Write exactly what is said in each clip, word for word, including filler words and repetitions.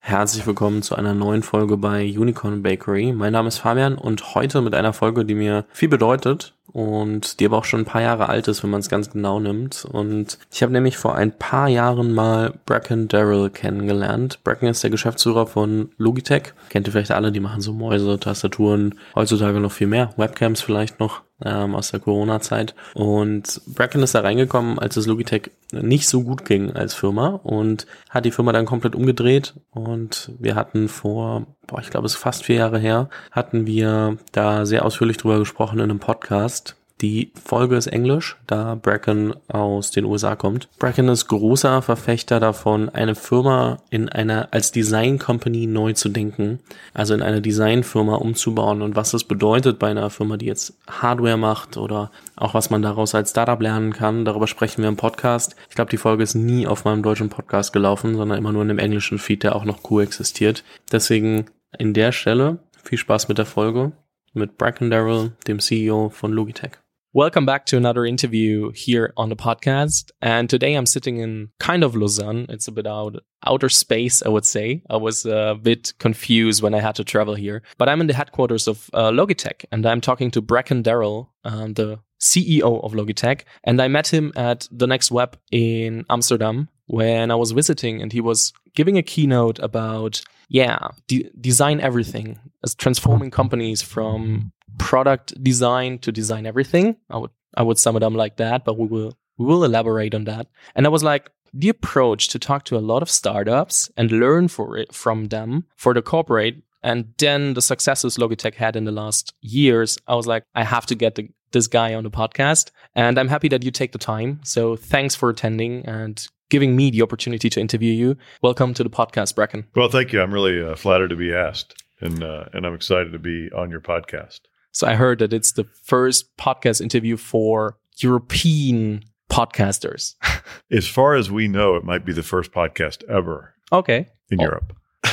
Herzlich willkommen zu einer neuen Folge bei Unicorn Bakery. Mein Name ist Fabian und heute mit einer Folge, die mir viel bedeutet und die aber auch schon ein paar Jahre alt ist, wenn man es ganz genau nimmt. Und ich habe nämlich vor ein paar Jahren mal Bracken Darrell kennengelernt. Bracken ist der Geschäftsführer von Logitech. Kennt ihr vielleicht alle, die machen so Mäuse, Tastaturen, heutzutage noch viel mehr, Webcams vielleicht noch. Ähm, aus der Corona-Zeit. Und Bracken ist da reingekommen, als es Logitech nicht so gut ging als Firma und hat die Firma dann komplett umgedreht. Und wir hatten vor, boah, ich glaube, es ist fast vier Jahre her, hatten wir da sehr ausführlich drüber gesprochen in einem Podcast. Die Folge ist Englisch, da Bracken aus den U S A kommt. Bracken ist großer Verfechter davon, eine Firma in einer als Design Company neu zu denken, also in eine Designfirma umzubauen und was das bedeutet bei einer Firma, die jetzt Hardware macht oder auch was man daraus als Startup lernen kann. Darüber sprechen wir im Podcast. Ich glaube, die Folge ist nie auf meinem deutschen Podcast gelaufen, sondern immer nur in dem englischen Feed, der auch noch coexistiert. Deswegen in der Stelle viel Spaß mit der Folge mit Bracken Darrell, dem C E O von Logitech. Welcome back to another interview here on the podcast. And today I'm sitting in kind of Lausanne. It's a bit out outer space, I would say. I was a bit confused when I had to travel here. But I'm in the headquarters of uh, Logitech and I'm talking to Bracken Darrell, um, the C E O of Logitech. And I met him at the Next Web in Amsterdam when I was visiting and he was giving a keynote about, yeah, de- design everything, as transforming companies from product design to design everything. I would I would sum it up like that, but we will we will elaborate on that. And I was like, the approach to talk to a lot of startups and learn for it from them for the corporate, and then the successes Logitech had in the last years. I was like, I have to get the, this guy on the podcast, and I'm happy that you take the time. So thanks for attending and giving me the opportunity to interview you. Welcome to the podcast, Bracken. Well, thank you. I'm really uh, flattered to be asked, and uh, and I'm excited to be on your podcast. So I heard that it's the first podcast interview for European podcasters. As far as we know, it might be the first podcast ever. Okay. In oh. Europe.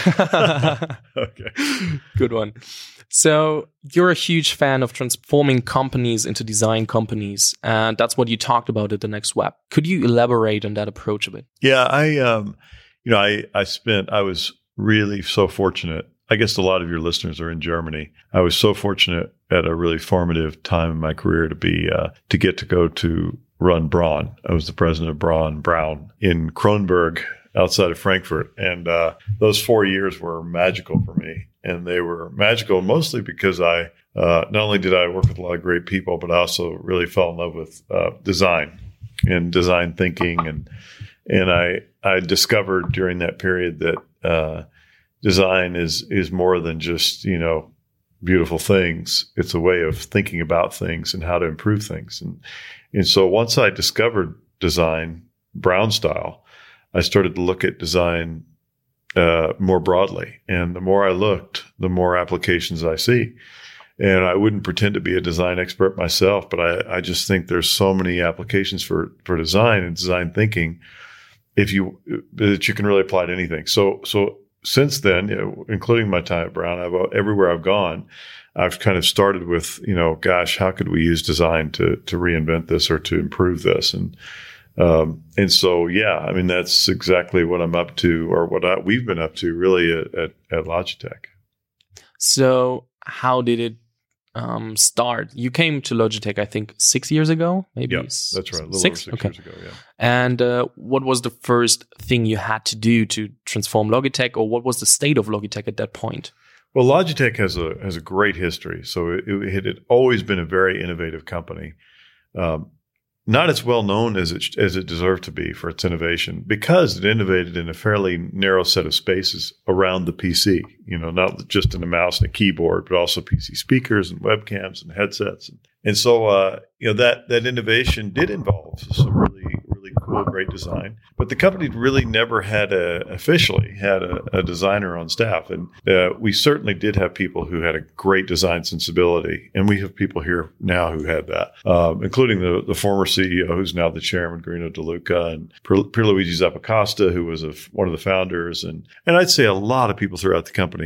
Okay. Good one. So you're a huge fan of transforming companies into design companies, and that's what you talked about at the Next Web. Could you elaborate on that approach a bit? Yeah, I, um, you know, I, I spent, I was really so fortunate. I guess a lot of your listeners are in Germany. I was so fortunate at a really formative time in my career to be uh, to get to go to run Braun. I was the president of Braun Braun in Kronberg outside of Frankfurt. And uh, those four years were magical for me. And they were magical mostly because I uh, not only did I work with a lot of great people, but I also really fell in love with uh, design and design thinking. And and I I discovered during that period that uh, design is is more than just, you know, beautiful things. It's a way of thinking about things and how to improve things. And and so once I discovered design, Braun style, I started to look at design uh, more broadly. And the more I looked, the more applications I see. And I wouldn't pretend to be a design expert myself, but I, I just think there's so many applications for, for design and design thinking if you that you can really apply to anything. So so since then, you know, including my time at Braun, I've everywhere I've gone, I've kind of started with, you know, gosh, how could we use design to to reinvent this or to improve this? And um, and so, yeah, I mean, that's exactly what I'm up to, or what I, we've been up to, really, at, at, at Logitech. So, how did it um, start? You came to Logitech, I think, six years ago, maybe. Yeah, that's right. A little six, over six okay. years ago. Yeah. And uh, what was the first thing you had to do to transform Logitech, or what was the state of Logitech at that point? Well, Logitech has a has a great history. So it, it had always been a very innovative company. Um, not as well known as it as it deserved to be for its innovation, because it innovated in a fairly narrow set of spaces around the P C. You know, not just in a mouse and a keyboard, but also P C speakers and webcams and headsets. And, and so, uh, you know, that that innovation did involve some really really cool, great design. But the company really never had a officially had a, a designer on staff, and uh, we certainly did have people who had a great design sensibility, and we have people here now who had that, um, including the the former C E O, who's now the chairman, Guerino De Luca, and Pierluigi Zappacosta, who was a, one of the founders, and and I'd say a lot of people throughout the company had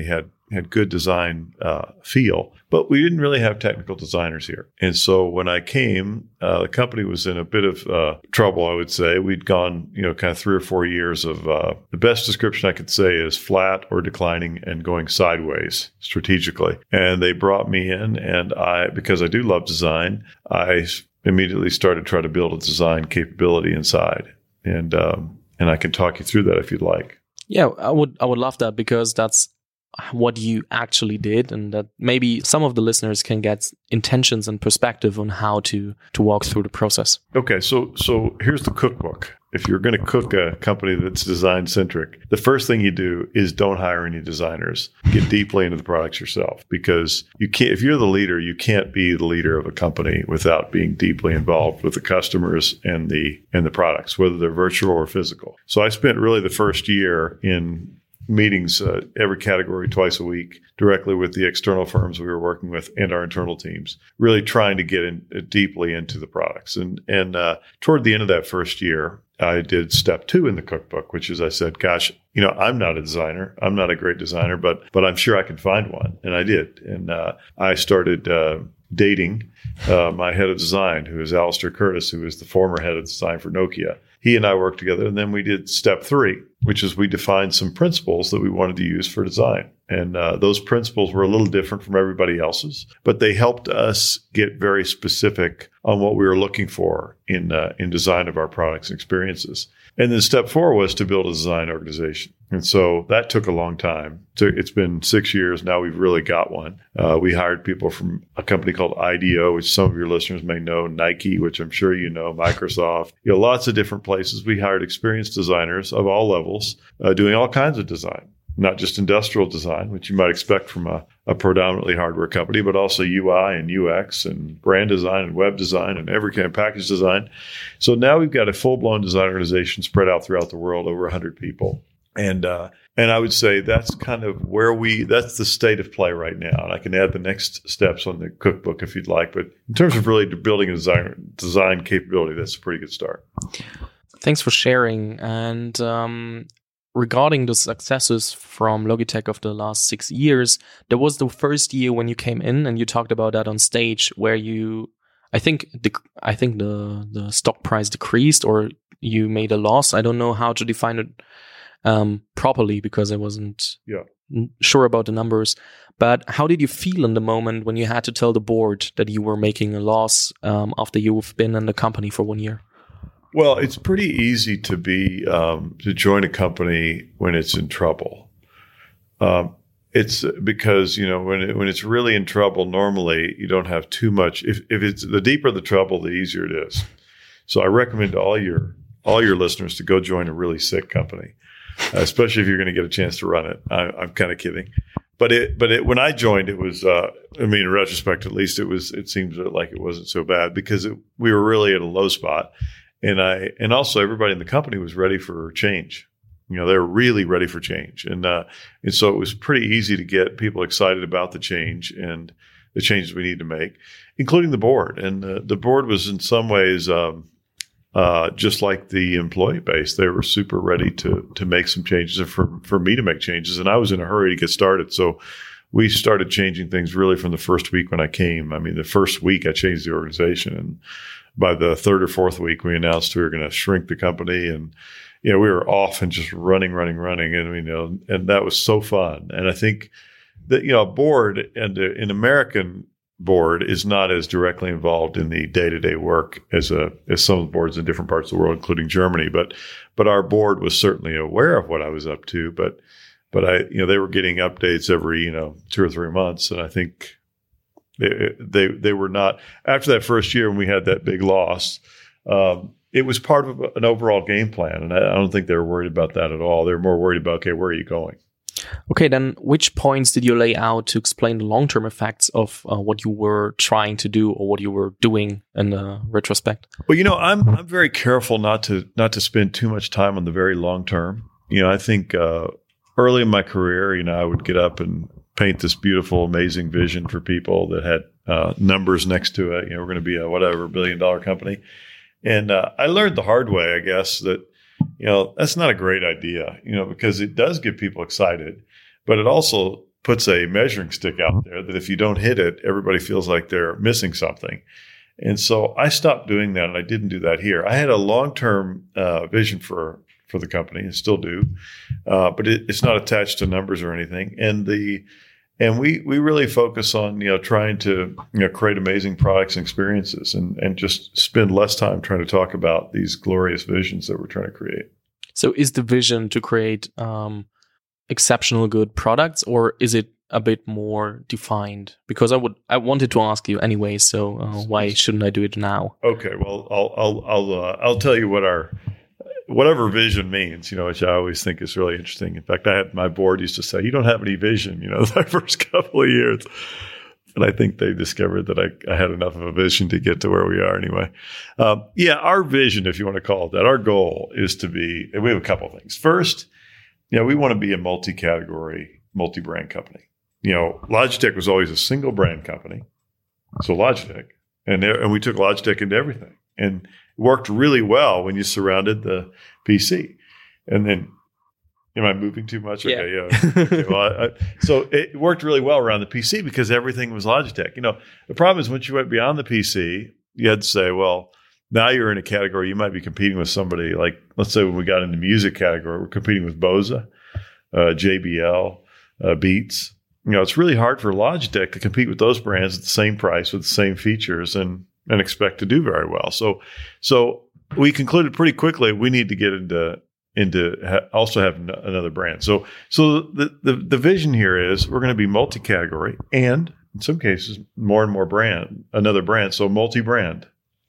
had good design uh, feel, but we didn't really have technical designers here. And so when I came, uh, the company was in a bit of uh, trouble, I would say. We'd gone, you know, kind of three or four years of uh, the best description I could say is flat or declining and going sideways strategically. And they brought me in, and I, because I do love design, I immediately started trying to build a design capability inside. And um, and I can talk you through that if you'd like. Yeah, I would I would love that, because that's what you actually did, and that maybe some of the listeners can get intentions and perspective on how to to walk through the process. Okay, so so here's the cookbook. If you're going to cook a company that's design centric, the first thing you do is don't hire any designers. Get deeply into the products yourself, because you can't. If you're the leader, you can't be the leader of a company without being deeply involved with the customers and the and the products, whether they're virtual or physical. So I spent really the first year in meetings, uh, every category twice a week, directly with the external firms we were working with and our internal teams, really trying to get in uh, deeply into the products. And and uh, toward the end of that first year, I did step two in the cookbook, which is I said, gosh, you know, I'm not a designer. I'm not a great designer, but but I'm sure I can find one. And I did. And uh, I started uh, dating uh, my head of design, who is Alistair Curtis, who is the former head of design for Nokia. He and I worked together, and then we did step three, which is we defined some principles that we wanted to use for design. And uh, those principles were a little different from everybody else's, but they helped us get very specific on what we were looking for in uh, in design of our products and experiences. And then step four was to build a design organization. And so that took a long time. It's been six years. Now we've really got one. Uh, we hired people from a company called I D O, which some of your listeners may know, Nike, which I'm sure you know, Microsoft, you know, lots of different places. We hired experienced designers of all levels, uh, doing all kinds of design, not just industrial design, which you might expect from a, a predominantly hardware company, but also U I and U X and brand design and web design and every kind of package design. So now we've got a full-blown design organization spread out throughout the world, over one hundred people. And uh, and I would say that's kind of where we, that's the state of play right now. And I can add the next steps on the cookbook if you'd like. But in terms of really building a design, design capability, that's a pretty good start. Thanks for sharing. And um, regarding the successes from Logitech of the last six years, there was the first year when you came in and you talked about that on stage, where you, I think the I think the the stock price decreased, or you made a loss. I don't know how to define it um, properly, because I wasn't yeah. sure about the numbers. But how did you feel in the moment when you had to tell the board that you were making a loss um, after you've been in the company for one year? Well, it's pretty easy to be um, to join a company when it's in trouble. Um, it's because, you know, when it, when it's really in trouble, normally you don't have too much. If if it's the deeper the trouble, the easier it is. So I recommend to all your all your listeners to go join a really sick company, uh, especially if you're going to get a chance to run it. I, I'm kind of kidding. But it, but it, when I joined, it was, uh, I mean, in retrospect, at least it was, it seems like it wasn't so bad, because it, we were really at a low spot. And I, and also everybody in the company was ready for change. You know, they were really ready for change. And, uh, and so it was pretty easy to get people excited about the change and the changes we need to make, including the board. And uh, the board was in some ways, um, uh, just like the employee base. They were super ready to, to make some changes and for, for me to make changes. And I was in a hurry to get started. So we started changing things really from the first week when I came. I mean, the first week I changed the organization, and by the third or fourth week, we announced we were going to shrink the company, and you know, we were off and just running, running, running, and you know, and that was so fun. And I think that, you know, a board and a, an American board is not as directly involved in the day-to-day work as a as some of the boards in different parts of the world, including Germany. But but our board was certainly aware of what I was up to. But but I, you know, they were getting updates every, you know, two or three months, and I think They, they they were not, after that first year when we had that big loss, um, it was part of an overall game plan. And I, I don't think they were worried about that at all. They were more worried about, okay, where are you going? Okay, then which points did you lay out to explain the long-term effects of uh, what you were trying to do or what you were doing in the retrospect? Well, you know, I'm I'm very careful not to not to spend too much time on the very long term. You know, I think uh, early in my career, you know, I would get up and paint this beautiful, amazing vision for people that had uh, numbers next to it. You know, we're going to be a whatever billion dollar company. And uh, I learned the hard way, I guess, that, you know, that's not a great idea, you know, because it does get people excited, but it also puts a measuring stick out there that if you don't hit it, everybody feels like they're missing something. And so I stopped doing that, and I didn't do that here. I had a long-term uh, vision for for the company, and still do, uh, but it, it's not attached to numbers or anything. And the and we we really focus on you know trying to you know create amazing products and experiences, and and just spend less time trying to talk about these glorious visions that we're trying to create. So, is the vision to create um, exceptional good products, or is it a bit more defined? Because I would, I wanted to ask you anyway. So uh, why shouldn't I do it now? Okay, well, I'll, I'll, I'll, uh, I'll tell you what our, whatever vision means. You know, which I always think is really interesting. In fact, I had my board used to say, "You don't have any vision." You know, the first couple of years, and I think they discovered that I, I had enough of a vision to get to where we are. Anyway, um, yeah, our vision, if you want to call it that, our goal is to be. And we have a couple of things. First, you know, we want to be a multi-category, multi-brand company. You know, Logitech was always a single brand company. So Logitech, and, there, and we took Logitech into everything, and it worked really well when you surrounded the P C. And then, am I moving too much? Yeah. Okay, yeah. Okay, well, I, I, so it worked really well around the P C because everything was Logitech. You know, the problem is once you went beyond the P C, you had to say, well, now you're in a category, you might be competing with somebody like, let's say when we got into music category, we're competing with Bose, uh, J B L, uh, Beats. You know, it's really hard for Logitech to compete with those brands at the same price with the same features and and expect to do very well. So, so we concluded pretty quickly we need to get into into ha- also have n- another brand. So, so the, the the vision here is we're going to be multi-category and in some cases more and more brand, another brand. So multi-brand.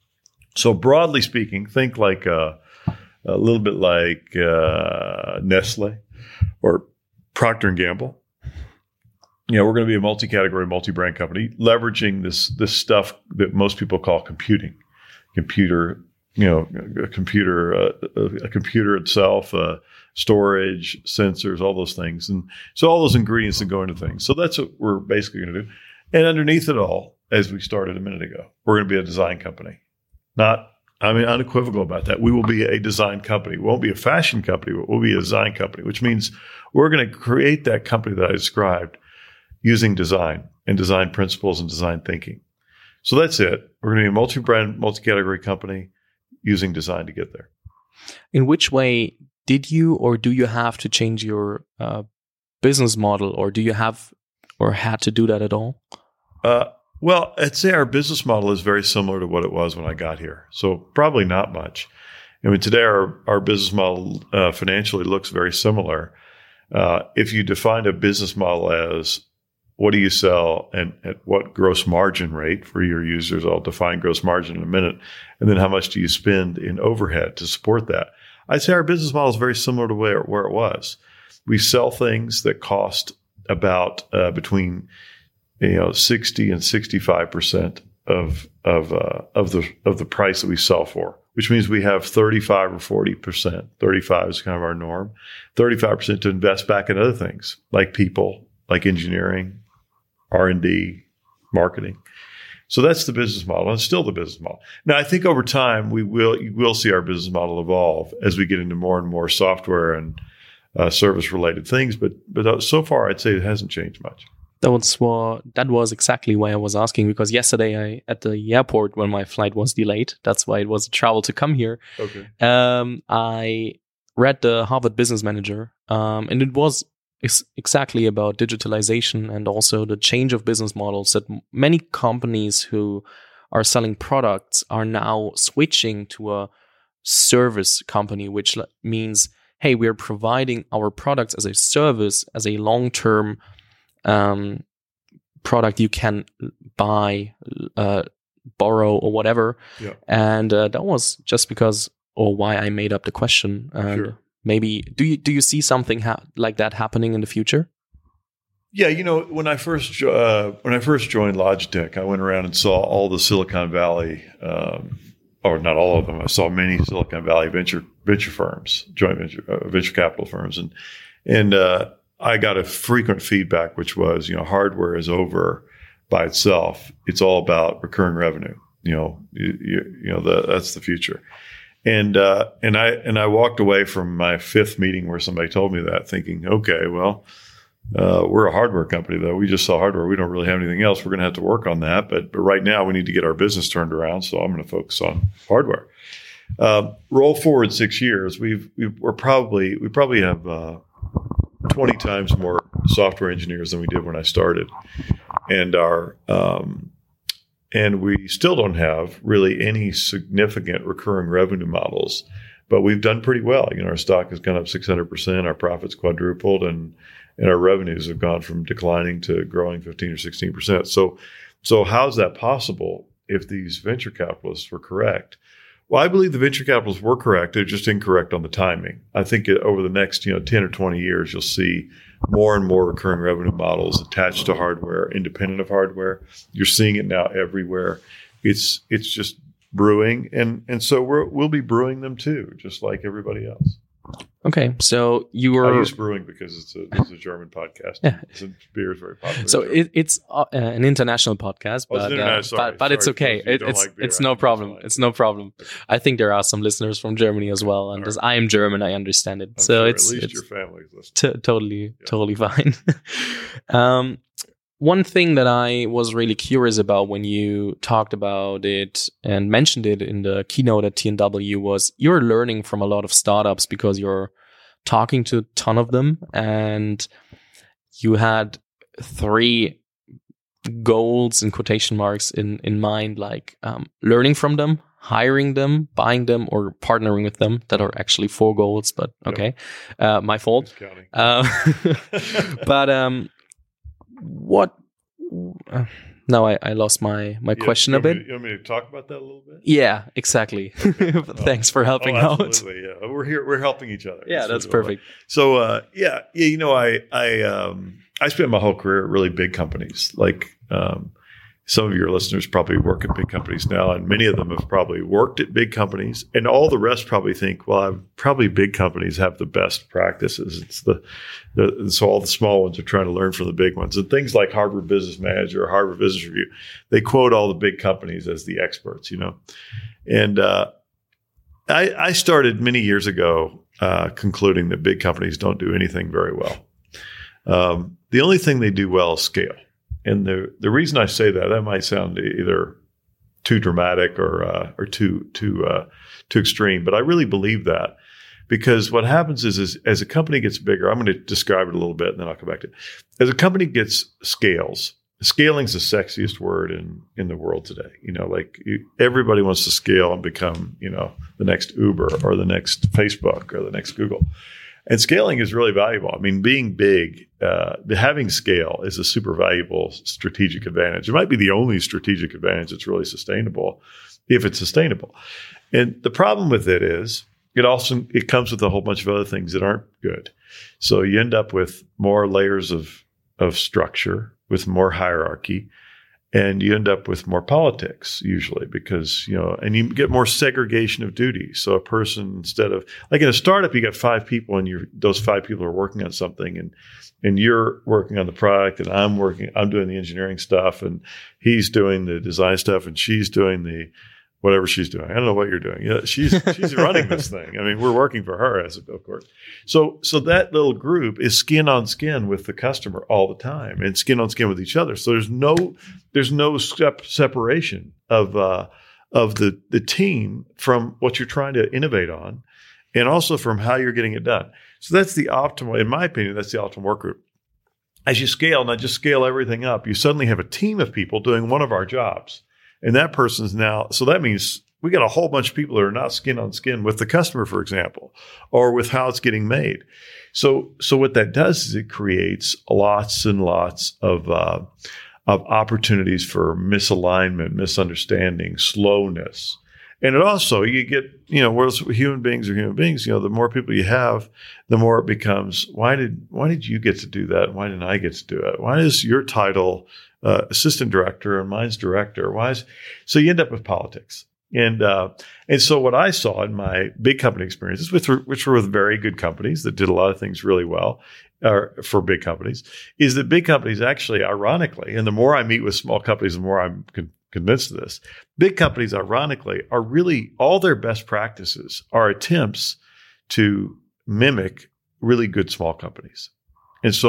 So broadly speaking, think like a, a little bit like uh, Nestle or Procter and Gamble. You know, we're going to be a multi-category, multi-brand company, leveraging this this stuff that most people call computing, computer, you know, a computer, uh, a computer itself, uh, storage, sensors, all those things, and so all those ingredients that go into things. So that's what we're basically going to do. And underneath it all, as we started a minute ago, we're going to be a design company. Not, I mean, unequivocal about that. We will be a design company. We won't be a fashion company, but we'll be a design company, which means we're going to create that company that I described using design and design principles and design thinking. So that's it. We're going to be a multi-brand, multi-category company using design to get there. In which way did you or do you have to change your uh, business model, or do you have or had to do that at all? Uh, well, I'd say our business model is very similar to what it was when I got here. So probably not much. I mean, today our, our business model uh, financially looks very similar. Uh, if you define a business model as what do you sell and at what gross margin rate for your users? I'll define gross margin in a minute. And then how much do you spend in overhead to support that? I'd say our business model is very similar to where, where it was. We sell things that cost about uh, between you know sixty and sixty-five percent of of uh, of the of the price that we sell for, which means we have thirty-five or forty percent. thirty-five is kind of our norm. thirty-five percent to invest back in other things like people, like engineering, R and D, marketing. So that's the business model, and it's still the business model. Now, I think over time we will you will see our business model evolve as we get into more and more software and uh, service-related things. But but so far, I'd say it hasn't changed much. That was what, that was exactly why I was asking, because yesterday I at the airport when my flight was delayed, that's why it was a travel to come here. Okay. Um, I read the Harvard Business Manager, um, and it was ex- exactly about digitalization and also the change of business models, that m- many companies who are selling products are now switching to a service company, which l- means, hey, we're providing our products as a service, as a long-term um, product you can buy, uh, borrow, or whatever. Yeah. And uh, that was just because, or why I made up the question. And Sure. maybe do you do you see something ha- like that happening in the future? Yeah, you know, when I first jo- uh, when I first joined Logitech, I went around and saw all the Silicon Valley, um, or not all of them. I saw many Silicon Valley venture venture firms, joint venture uh, venture capital firms, and and uh, I got a frequent feedback, which was, you know, hardware is over by itself. It's all about recurring revenue. You know, you, you, you know, the, that's the future. And uh, and I and I walked away from my fifth meeting where somebody told me that, thinking, okay, well, Uh, we're a hardware company, though. We just sell hardware. We don't really have anything else. We're going to have to work on that. But, but right now, we need to get our business turned around. So I'm going to focus on hardware. Uh, roll forward six years. We've, we've we're probably we probably have uh, twenty times more software engineers than we did when I started, and our um, and we still don't have really any significant recurring revenue models. But we've done pretty well. You know, our stock has gone up six hundred percent. Our profits quadrupled, and and our revenues have gone from declining to growing fifteen or sixteen percent. So, so how's that possible if these venture capitalists were correct? Well, I believe the venture capitalists were correct. They're just incorrect on the timing. I think over the next, you know, ten or twenty years, you'll see more and more recurring revenue models attached to hardware, independent of hardware. You're seeing it now everywhere. It's it's just brewing, and and so we're, we'll be brewing them too, just like everybody else. Okay, so you were. I use brewing because it's a, it's a German podcast. Yeah, it's a, beer is very popular. So it, it's uh, an international podcast, oh, but internet, uh, sorry, but, but sorry, it's okay. It, it's like beer, it's no problem. It's no problem. Okay. I think there are some listeners from Germany as well, and right. As I am German, I understand it. I'm so sure it's at least it's your family is listening. T- totally yeah. totally fine. um, One thing that I was really curious about when you talked about it and mentioned it in the keynote at T N W was you're learning from a lot of startups because you're talking to a ton of them, and you had three goals in quotation marks in, in mind, like um, learning from them, hiring them, buying them, or partnering with them. That are actually four goals, but okay. Yep. Uh, my fault. Uh, but um, what uh, now I, I lost my, my yeah, question a bit. Me, you want me to talk about that a little bit? Yeah, exactly. Okay. Thanks for helping oh, out. Absolutely, yeah. We're here. We're helping each other. Yeah, that's, that's perfect. So, uh, yeah, yeah. You know, I I um, I spent my whole career at really big companies. Like um, some of your listeners probably work at big companies now, and many of them have probably worked at big companies. And all the rest probably think, well, I've, probably big companies have the best practices. It's the, the so all the small ones are trying to learn from the big ones. And things like Harvard Business Manager or Harvard Business Review, they quote all the big companies as the experts, you know. And uh, I, I started many years ago uh, concluding that big companies don't do anything very well. Um, the only thing they do well is scale. And the the reason I say that, that might sound either too dramatic or uh, or too too uh, too extreme, but I really believe that because what happens is, is as a company gets bigger, I'm going to describe it a little bit, and then I'll come back to it. As a company gets scales, scaling is the sexiest word in in the world today. You know, like you, everybody wants to scale and become, you know, the next Uber or the next Facebook or the next Google. And scaling is really valuable. I mean, being big, uh, having scale is a super valuable strategic advantage. It might be the only strategic advantage that's really sustainable if it's sustainable. And the problem with it is it also it comes with a whole bunch of other things that aren't good. So you end up with more layers of of structure, with more hierarchy, and you end up with more politics usually because, you know, and you get more segregation of duties. So a person, instead of like in a startup, you got five people and you're, those five people are working on something and, and you're working on the product and I'm working, I'm doing the engineering stuff and he's doing the design stuff and she's doing the, whatever she's doing. I don't know what you're doing. Yeah, she's she's running this thing. I mean, we're working for her, as of course. So so that little group is skin on skin with the customer all the time, and skin on skin with each other. So there's no there's no step separation of uh, of the the team from what you're trying to innovate on, and also from how you're getting it done. So that's the optimal, in my opinion, that's the optimal work group. As you scale, not just scale everything up, you suddenly have a team of people doing one of our jobs. And that person's now, so that means we got a whole bunch of people that are not skin on skin with the customer, for example, or with how it's getting made. So, so what that does is it creates lots and lots of, uh, of opportunities for misalignment, misunderstanding, slowness. And it also, you get, you know, whereas human beings are human beings, you know, the more people you have, the more it becomes, why did, why did you get to do that? Why didn't I get to do it? Why is your title Uh, assistant director and mine's director? Why is so you end up with politics, and uh, and so what I saw in my big company experiences, which were, which were with very good companies that did a lot of things really well, uh, for big companies, is that big companies actually, ironically, and the more I meet with small companies, the more I'm con- convinced of this. Big companies, ironically, are really all their best practices are attempts to mimic really good small companies. And so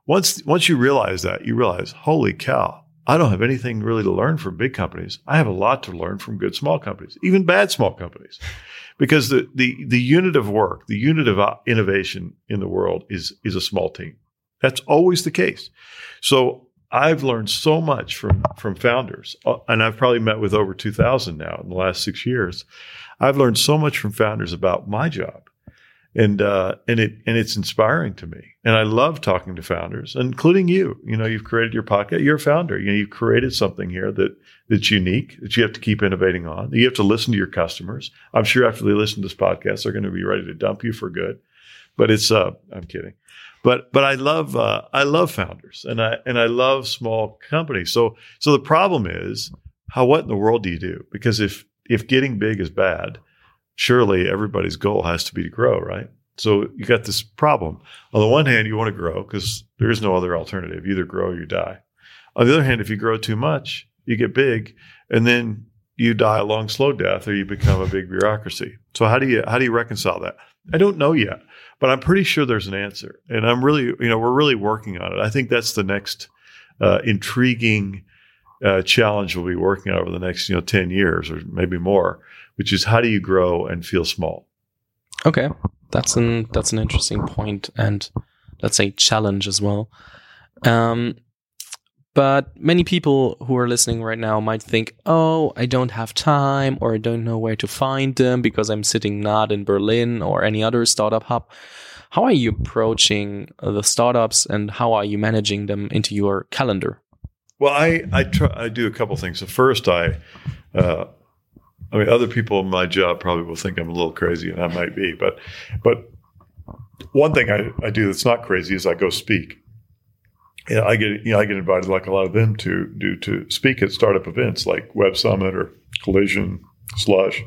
once once you realize that, you realize, holy cow, I don't have anything really to learn from big companies. I have a lot to learn from good small companies, even bad small companies. Because the, the, the unit of work, the unit of innovation in the world is, is a small team. That's always the case. So I've learned so much from, from founders, and I've probably met with over two thousand now in the last six years. I've learned so much from founders about my job. And, uh, and it, and it's inspiring to me. And I love talking to founders, including you. You know, you've created your podcast. You're a founder. You know, you've created something here that, that's unique, that you have to keep innovating on. You have to listen to your customers. I'm sure after they listen to this podcast, they're going to be ready to dump you for good. But it's, uh, I'm kidding. But, but I love, uh, I love founders and I, and I love small companies. So, so the problem is how, what in the world do you do? Because if, if getting big is bad, surely everybody's goal has to be to grow, right? So you got this problem. On the one hand, you want to grow because there is no other alternative. You either grow or you die. On the other hand, if you grow too much, you get big and then you die a long, slow death or you become a big bureaucracy. So how do you, how do you reconcile that? I don't know yet, but I'm pretty sure there's an answer. And I'm really, you know, we're really working on it. I think that's the next uh, intriguing uh, challenge we'll be working on over the next, you know, ten years or maybe more, which is how do you grow and feel small? Okay, that's an that's an interesting point and let's say challenge as well. Um, but many people who are listening right now might think, oh, I don't have time or I don't know where to find them because I'm sitting not in Berlin or any other startup hub. How are you approaching the startups and how are you managing them into your calendar? Well, I I, try, I do a couple things. So first, I uh, I mean, other people in my job probably will think I'm a little crazy, and I might be. But but one thing I, I do that's not crazy is I go speak. Yeah, I get you know I get invited like a lot of them to do to speak at startup events like Web Summit or Collision, Slush.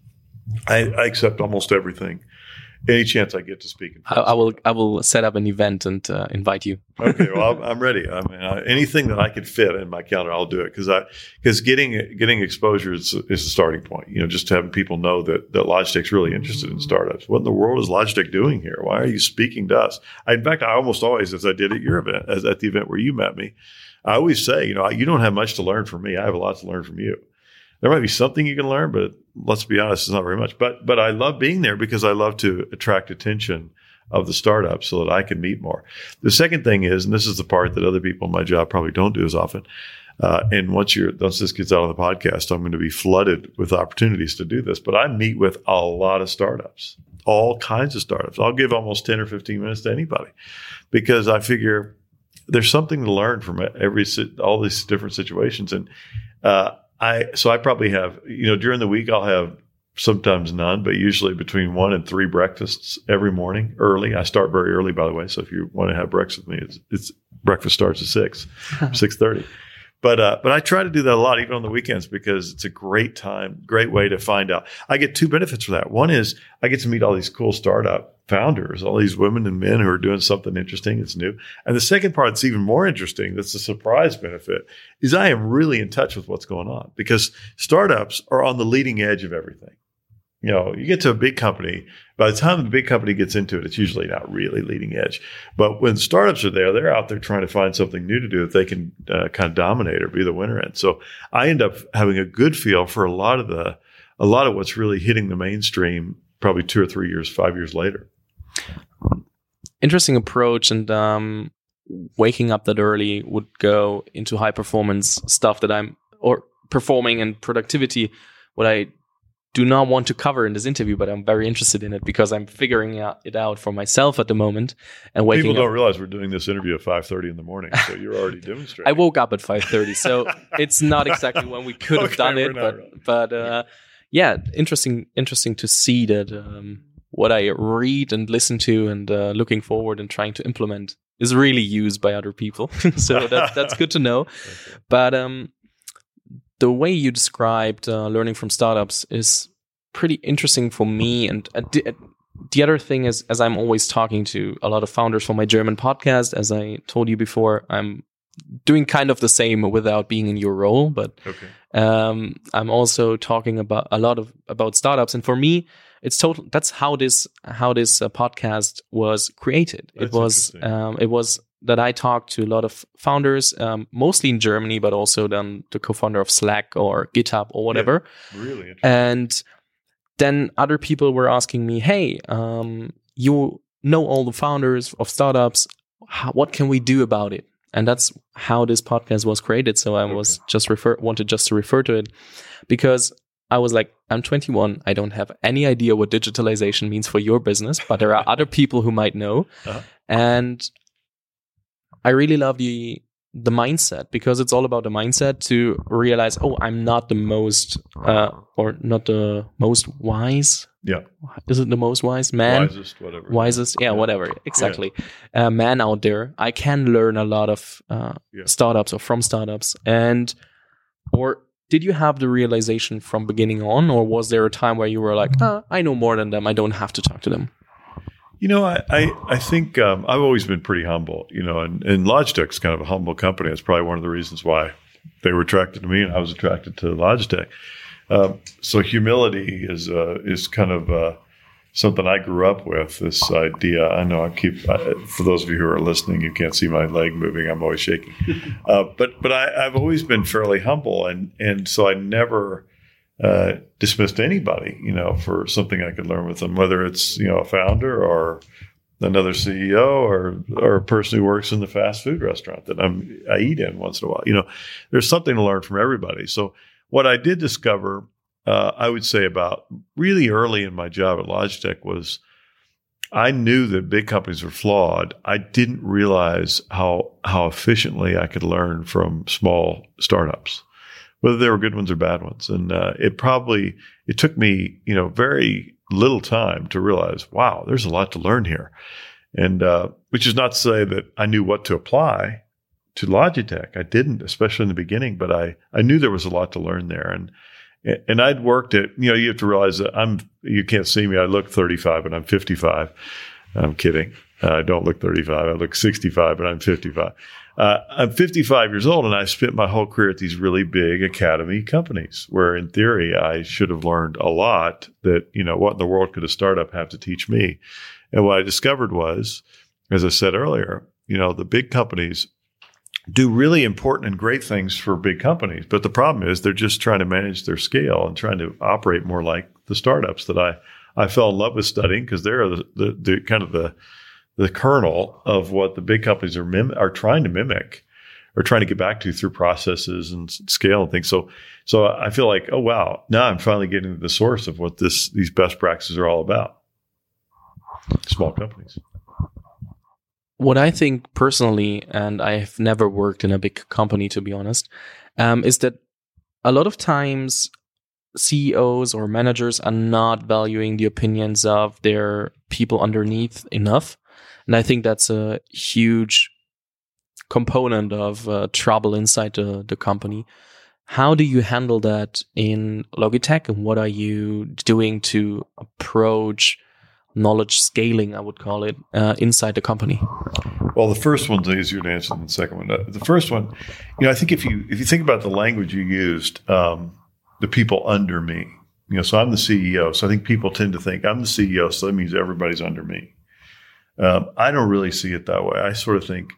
I, I accept almost everything. Any chance I get to speak. In I, I will. I will set up an event and uh, invite you. Okay, well, I'm, I'm ready. I mean, I, anything that I could fit in my calendar, I'll do it because I because getting getting exposure is, is the starting point. You know, just having people know that that Logitech's really interested in startups. What in the world is Logitech doing here? Why are you speaking to us? I, in fact, I almost always, as I did at your event, as at the event where you met me, I always say, you know, you don't have much to learn from me. I have a lot to learn from you. There might be something you can learn, but let's be honest, it's not very much. But but I love being there because I love to attract attention of the startups so that I can meet more. The second thing is, and this is the part that other people in my job probably don't do as often, uh, and once you're once this gets out on the podcast, I'm going to be flooded with opportunities to do this. But I meet with a lot of startups, all kinds of startups. I'll give almost ten or fifteen minutes to anybody because I figure there's something to learn from every all these different situations. And uh, I so I probably have, you know, during the week I'll have sometimes none, but usually between one and three breakfasts every morning early. I start very early, by the way. So if you want to have breakfast with me, it's, it's breakfast starts at six, six thirty. But uh, but I try to do that a lot, even on the weekends, because it's a great time, great way to find out. I get two benefits for that. One is I get to meet all these cool startup founders, all these women and men who are doing something interesting that's new. And the second part that's even more interesting, that's a surprise benefit, is I am really in touch with what's going on because startups are on the leading edge of everything. You know, you get to a big company, by the time the big company gets into it, it's usually not really leading edge. But when startups are there, they're out there trying to find something new to do that they can uh, kind of dominate or be the winner in. So I end up having a good feel for a lot of the, a lot of what's really hitting the mainstream probably two or three years, five years later. Interesting approach. And um, waking up that early would go into high performance stuff that I'm, or performing and productivity, what I do not want to cover in this interview, but I'm very interested in it because I'm figuring it out for myself at the moment. And waking People don't up, realize we're doing this interview at five thirty in the morning, so you're already demonstrating. I woke up at five thirty, so it's not exactly when we could have Okay, done it, we're but not but uh, yeah, interesting interesting to see that um, what I read and listen to and uh, looking forward and trying to implement is really used by other people. So that, that's good to know. Okay. But um, the way you described uh, learning from startups is pretty interesting for me. And uh, the, uh, the other thing is, as I'm always talking to a lot of founders for my German podcast, as I told you before, I'm doing kind of the same without being in your role, but Okay. um, I'm also talking about a lot of about startups. And for me, it's total. That's how this how this uh, podcast was created. That's it was interesting. um, it was that I talk to a lot of founders, um, mostly in Germany, but also then the co-founder of Slack or GitHub or whatever. Yeah, really interesting. And then other people were asking me, hey, um, you know all the founders of startups. How, what can we do about it? And that's how this podcast was created. So I okay. was just refer wanted just to refer to it because I was like, I'm twenty-one. I don't have any idea what digitalization means for your business, but there are other people who might know. Uh-huh. And I really love the the mindset because it's all about the mindset to realize, oh, I'm not the most uh, or not the most wise. Yeah. Is it the most wise man? Wisest, whatever. Wisest, yeah, yeah. whatever. Exactly. Yeah. Uh, man out there. I can learn a lot of uh, yeah. startups or from startups. And, or did you have the realization from beginning on, or was there a time where you were like, ah, I know more than them. I don't have to talk to them? You know, I, I, I think um, I've always been pretty humble, you know, and, and Logitech's kind of a humble company. That's probably one of the reasons why they were attracted to me and I was attracted to Logitech. Um, so humility is uh, is kind of uh, something I grew up with, this idea. I know I keep, uh, for those of you who are listening, you can't see my leg moving. I'm always shaking. Uh, but but I, I've always been fairly humble. And, and so I never uh, dismissed anybody, you know, for something I could learn with them, whether it's, you know, a founder or another C E O or or a person who works in the fast food restaurant that I'm, I eat in once in a while. You know, there's something to learn from everybody. So what I did discover, uh, I would say about really early in my job at Logitech was I knew that big companies were flawed. I didn't realize how how efficiently I could learn from small startups, whether they were good ones or bad ones. And uh, it probably, it took me, you know, very little time to realize, wow, there's a lot to learn here. And uh, which is not to say that I knew what to apply to Logitech. I didn't, especially in the beginning, but I, I knew there was a lot to learn there. And, and I'd worked at, you know, you have to realize that I'm, you can't see me. I look thirty-five and I'm fifty-five. I'm kidding. Uh, I don't look thirty-five. I look sixty-five, but I'm fifty-five. Uh, I'm fifty-five years old and I spent my whole career at these really big academy companies where in theory I should have learned a lot that, you know, what in the world could a startup have to teach me? And what I discovered was, as I said earlier, you know, the big companies do really important and great things for big companies. But the problem is they're just trying to manage their scale and trying to operate more like the startups that I, I fell in love with studying because they're the, the, the kind of the, the kernel of what the big companies are mim- are trying to mimic or trying to get back to through processes and scale and things. So, so I feel like, oh, wow, now I'm finally getting to the source of what this, these best practices are all about. Small companies. What I think personally, and I've never worked in a big company, to be honest, um, is that a lot of times C E Os or managers are not valuing the opinions of their people underneath enough. And I think that's a huge component of uh, trouble inside the, the company. How do you handle that in Logitech, and what are you doing to approach knowledge scaling, I would call it, uh, inside the company? Well, the first one's easier to answer than the second one. Uh, the first one, you know, I think if you if you think about the language you used, um, the people under me, you know, so I'm the C E O, so I think people tend to think I'm the C E O, so that means everybody's under me. Um, I don't really see it that way. I sort of think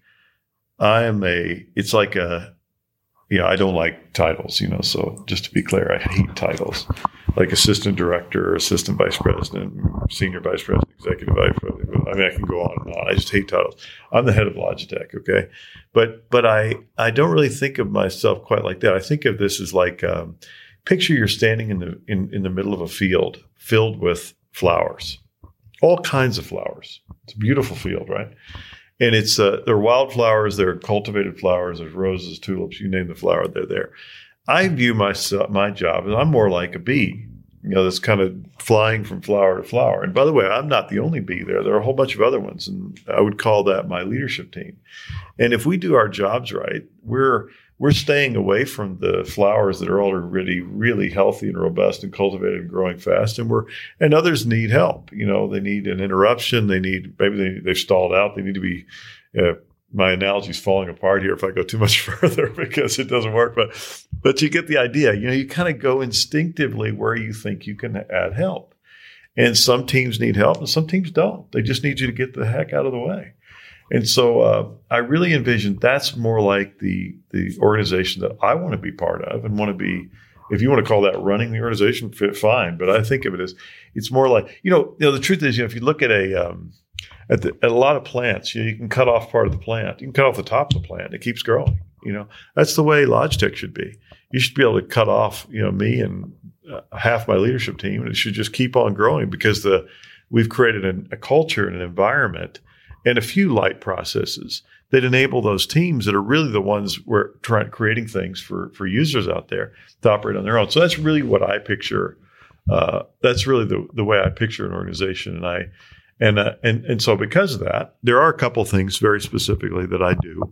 I am a, it's like a, you know, I don't like titles, you know, so just to be clear, I hate titles. Like assistant director, assistant vice president, senior vice president, executive vice president. I mean, I can go on and on. I just hate titles. I'm the head of Logitech, okay? But but I, I don't really think of myself quite like that. I think of this as like, um, picture you're standing in the in, in the middle of a field filled with flowers, all kinds of flowers. It's a beautiful field, right? And it's uh, there are wildflowers, there are cultivated flowers, there's roses, tulips, you name the flower, they're there. I view myself, my job as I'm more like a bee, you know, that's kind of flying from flower to flower. And by the way, I'm not the only bee there. There are a whole bunch of other ones, and I would call that my leadership team. And if we do our jobs right, we're we're staying away from the flowers that are already really healthy and robust and cultivated and growing fast. And we're and others need help. You know, they need an interruption. They need maybe they, they've stalled out. They need to be. Uh, My analogy is falling apart here if I go too much further because it doesn't work. But but you get the idea. You know, you kind of go instinctively where you think you can add help. And some teams need help and some teams don't. They just need you to get the heck out of the way. And so uh, I really envision that's more like the the organization that I want to be part of and want to be, if you want to call that running the organization, fit, fine. But I think of it as, it's more like, you know, you know, the truth is, you know, if you look at a, um, at, the, at a lot of plants, you know, you can cut off part of the plant. You can cut off the top of the plant. It keeps growing. You know, that's the way Logitech should be. You should be able to cut off, you know, me and uh, half my leadership team, and it should just keep on growing because the we've created an, a culture and an environment and a few light processes that enable those teams that are really the ones where trying creating things for for users out there to operate on their own. So that's really what I picture. Uh, that's really the the way I picture an organization, and I and uh, and and so because of that, there are a couple things very specifically that I do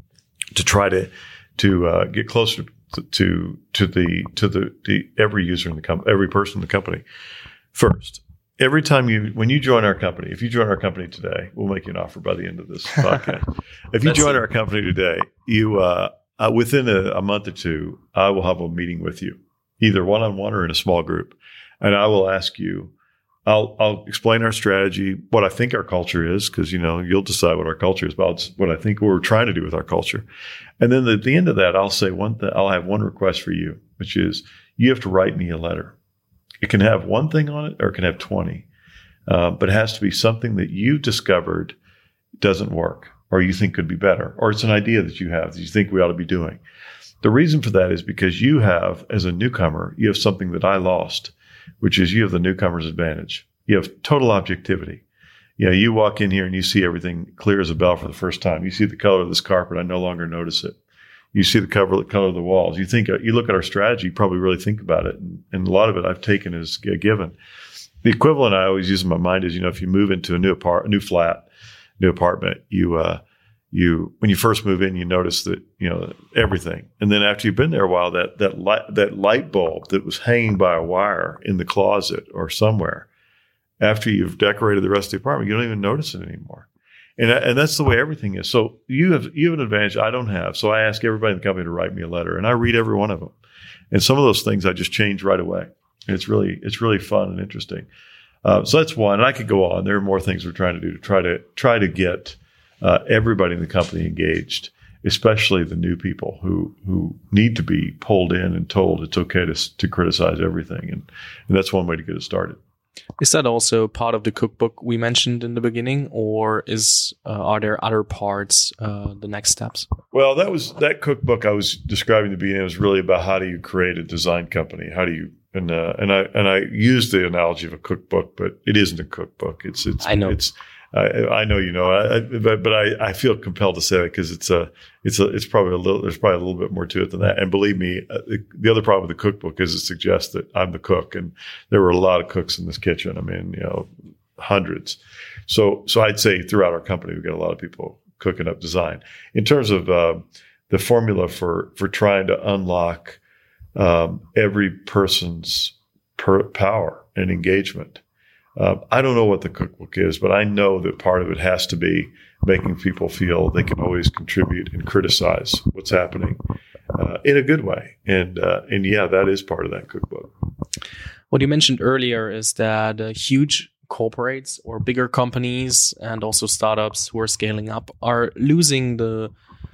to try to to uh, get closer to, to to the to the, the every user in the company, every person in the company. First, every time you when you join our company, if you join our company today, we'll make you an offer by the end of this podcast. If you join our company today, you uh, uh, within a, a month or two, I will have a meeting with you, either one on one or in a small group, and I will ask you. I'll, I'll explain our strategy, what I think our culture is, because, you know, you'll decide what our culture is about, what I think we're trying to do with our culture. And then at the end of that, I'll say one thing, I'll have one request for you, which is you have to write me a letter. It can have one thing on it or it can have twenty, uh, but it has to be something that you've discovered doesn't work or you think could be better, or it's an idea that you have that you think we ought to be doing. The reason for that is because you have, as a newcomer, you have something that I lost, which is you have the newcomer's advantage. You have total objectivity. You know, you walk in here and you see everything clear as a bell for the first time. You see the color of this carpet. I no longer notice it. You see the cover, the color of the walls. You think, you look at our strategy, you probably really think about it. And, and a lot of it I've taken as a given. The equivalent I always use in my mind is, you know, if you move into a new apart, a new flat, new apartment, you, uh, you, when you first move in, you notice that, you know, everything. And then after you've been there a while, that, that light, that light bulb that was hanging by a wire in the closet or somewhere, after you've decorated the rest of the apartment, you don't even notice it anymore. And, and that's the way everything is. So you have, you have an advantage I don't have. So I ask everybody in the company to write me a letter, and I read every one of them. And some of those things I just change right away. And it's really, it's really fun and interesting. Uh, so that's one. And I could go on. There are more things we're trying to do to try to, try to get Uh, everybody in the company engaged, especially the new people who who need to be pulled in and told it's okay to to criticize everything, and, and that's one way to get it started. Is that also part of the cookbook we mentioned in the beginning, or is uh, are there other parts, uh, the next steps? Well, that was that cookbook I was describing at the beginning was really about how do you create a design company, how do you and uh, and I and I used the analogy of a cookbook, but it isn't a cookbook. It's it's I know it's. I, I know you know, I, I, but but I, I feel compelled to say that because it's a it's a it's probably a little there's probably a little bit more to it than that. And believe me, uh, the, the other problem with the cookbook is it suggests that I'm the cook, and there were a lot of cooks in this kitchen. I mean, you know, hundreds. So so I'd say throughout our company we've got a lot of people cooking up design. In terms of uh, the formula for for trying to unlock um, every person's per power and engagement. Uh, I don't know what the cookbook is, but I know that part of it has to be making people feel they can always contribute and criticize what's happening uh, in a good way. And uh, and yeah, that is part of that cookbook. What you mentioned earlier is that uh, huge corporates or bigger companies and also startups who are scaling up are losing the,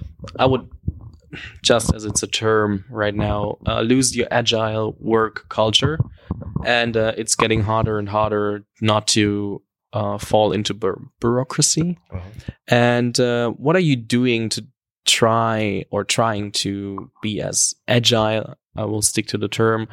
I would, just as it's a term right now, uh, lose your agile work culture. And uh, it's getting harder and harder not to uh, fall into bu- bureaucracy. Uh-huh. And uh, what are you doing to try or trying to be as agile? I will stick to the term,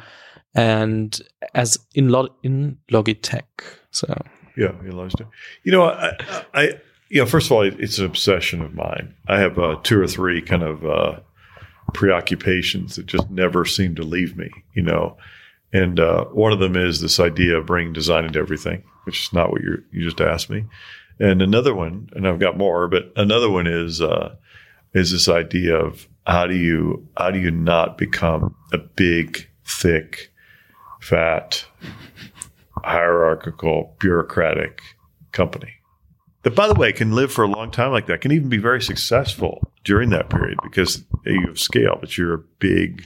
and as in Log- in Logitech. So yeah, in Logitech. You know, I, I, you know, first of all, it's an obsession of mine. I have uh, two or three kind of uh, preoccupations that just never seem to leave me. You know. And uh, one of them is this idea of bringing design into everything, which is not what you you just asked me. And another one, and I've got more, but another one is uh, is this idea of how do you how do you not become a big, thick, fat, hierarchical, bureaucratic company that, by the way, can live for a long time like that, can even be very successful during that period because you have scale, but you're a big,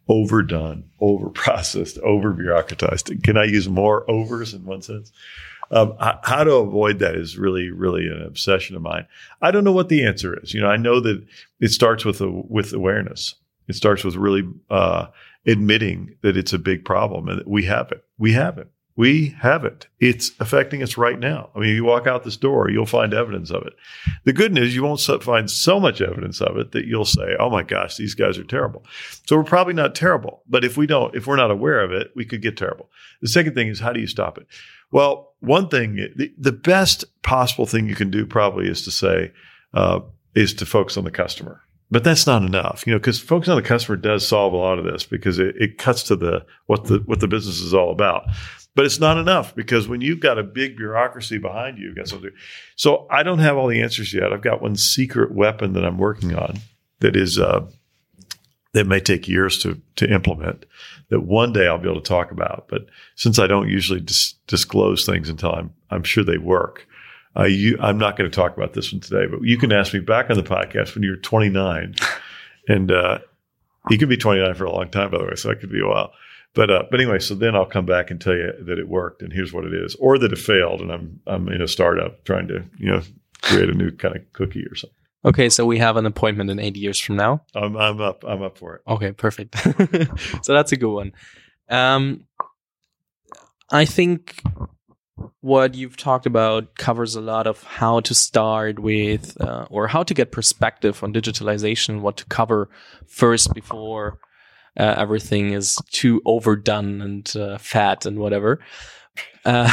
overdone, over-processed, over-bureaucratized. Can I use more overs in one sense? Um, how to avoid that is really, really an obsession of mine. I don't know what the answer is. You know, I know that it starts with a, with awareness. It starts with really uh, admitting that it's a big problem and that we have it. We have it. We have it. It's affecting us right now. I mean, you walk out this door, you'll find evidence of it. The good news, you won't find so much evidence of it that you'll say, oh my gosh, these guys are terrible. So we're probably not terrible. But if we don't, if we're not aware of it, we could get terrible. The second thing is, how do you stop it? Well, one thing, the, the best possible thing you can do probably is to say, uh, is to focus on the customer. But that's not enough, you know, because focus on the customer does solve a lot of this because it, it cuts to the what the what the business is all about. But it's not enough because when you've got a big bureaucracy behind you, you've got something. So I don't have all the answers yet. I've got one secret weapon that I'm working on that is uh, that may take years to to implement. That one day I'll be able to talk about. But since I don't usually dis- disclose things until I'm I'm sure they work, uh, you, I'm not going to talk about this one today. But you can ask me back on the podcast when you're twenty-nine, and uh, you can be twenty-nine for a long time, by the way. So that could be a while. But uh, but anyway, so then I'll come back and tell you that it worked and here's what it is, or that it failed and I'm I'm in a startup trying to you know create a new kind of cookie or something. Okay, so we have an appointment in eight years from now. I'm I'm up I'm up for it. Okay, perfect. So that's a good one. Um, I think what you've talked about covers a lot of how to start with uh, or how to get perspective on digitalization, what to cover first before Uh, everything is too overdone and uh, fat and whatever. Uh,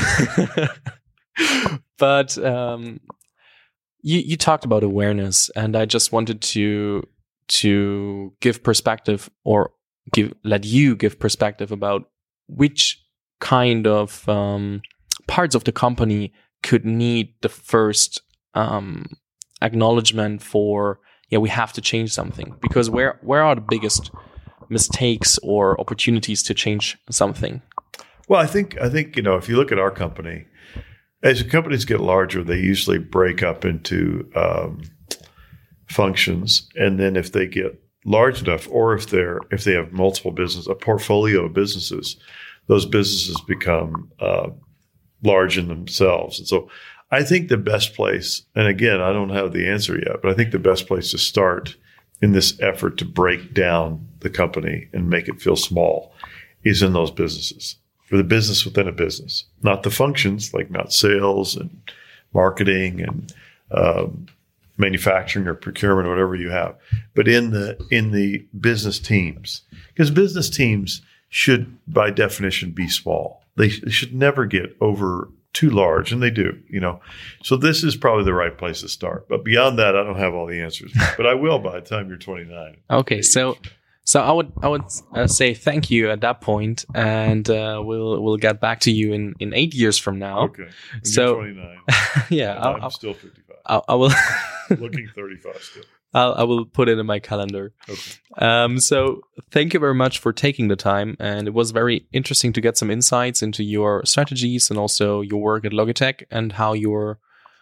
but um, you, you talked about awareness, and I just wanted to to give perspective or give let you give perspective about which kind of um, parts of the company could need the first um, acknowledgement for, yeah, we have to change something. Because where where are the biggest mistakes or opportunities to change something? Well, I think I think you know if you look at our company, as the companies get larger, they usually break up into um, functions, and then if they get large enough, or if they're if they have multiple business, a portfolio of businesses, those businesses become uh, large in themselves. And so, I think the best place, and again, I don't have the answer yet, but I think the best place to start in this effort to break down the company and make it feel small is in those businesses, for the business within a business, not the functions, like not sales and marketing and um, manufacturing or procurement or whatever you have, but in the in the business teams, because business teams should by definition be small. They, they should never get over too large, and they do, you know. So this is probably the right place to start. But beyond that, I don't have all the answers. But I will by the time you're twenty-nine. Okay, so so I would I would uh, say thank you at that point, and uh, we'll we'll get back to you in, in eight years from now. Okay. When so you're twenty-nine. Yeah, I'll, I'm I'll, still fifty-five. I'll, I will looking thirty-five still. I'll, I will put it in my calendar. Okay. Um, so thank you very much for taking the time. And it was very interesting to get some insights into your strategies and also your work at Logitech and how you're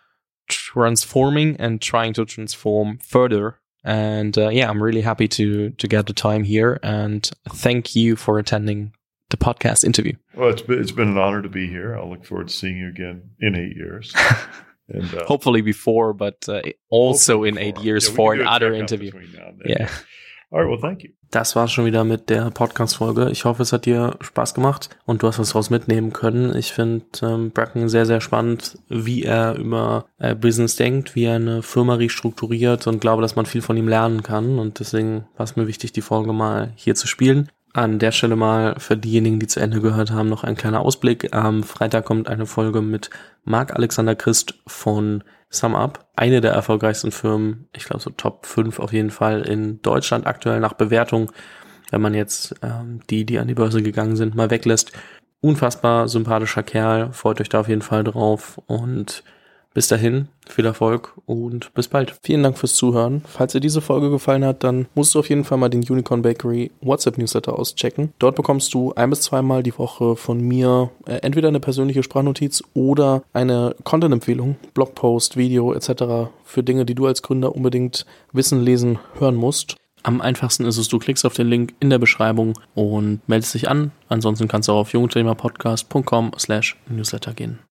transforming and trying to transform further. And uh, yeah, I'm really happy to to get the time here. And thank you for attending the podcast interview. Well, it's been, it's been an honor to be here. I'll look forward to seeing you again in eight years. And, uh, hopefully before, but uh, also in eight years yeah, for another interview. Yeah. All right, well, thank you. Das war's schon wieder mit der Podcast-Folge. Ich hoffe, es hat dir Spaß gemacht und du hast was daraus mitnehmen können. Ich finde ähm, Bracken sehr, sehr spannend, wie er über äh, Business denkt, wie er eine Firma restrukturiert und glaube, dass man viel von ihm lernen kann. Und deswegen war es mir wichtig, die Folge mal hier zu spielen. An der Stelle mal für diejenigen, die zu Ende gehört haben, noch ein kleiner Ausblick. Am Freitag kommt eine Folge mit Marc-Alexander Christ von SumUp, eine der erfolgreichsten Firmen, ich glaube so Top fünf auf jeden Fall in Deutschland aktuell nach Bewertung, wenn man jetzt ähm, die, die an die Börse gegangen sind, mal weglässt. Unfassbar sympathischer Kerl, freut euch da auf jeden Fall drauf und bis dahin, viel Erfolg und bis bald. Vielen Dank fürs Zuhören. Falls dir diese Folge gefallen hat, dann musst du auf jeden Fall mal den Unicorn Bakery WhatsApp-Newsletter auschecken. Dort bekommst du ein- bis zweimal die Woche von mir äh, entweder eine persönliche Sprachnotiz oder eine Content-Empfehlung, Blogpost, Video et cetera für Dinge, die du als Gründer unbedingt wissen, lesen, hören musst. Am einfachsten ist es, du klickst auf den Link in der Beschreibung und meldest dich an. Ansonsten kannst du auch auf jungunternehmerpodcast punkt com slash newsletter gehen.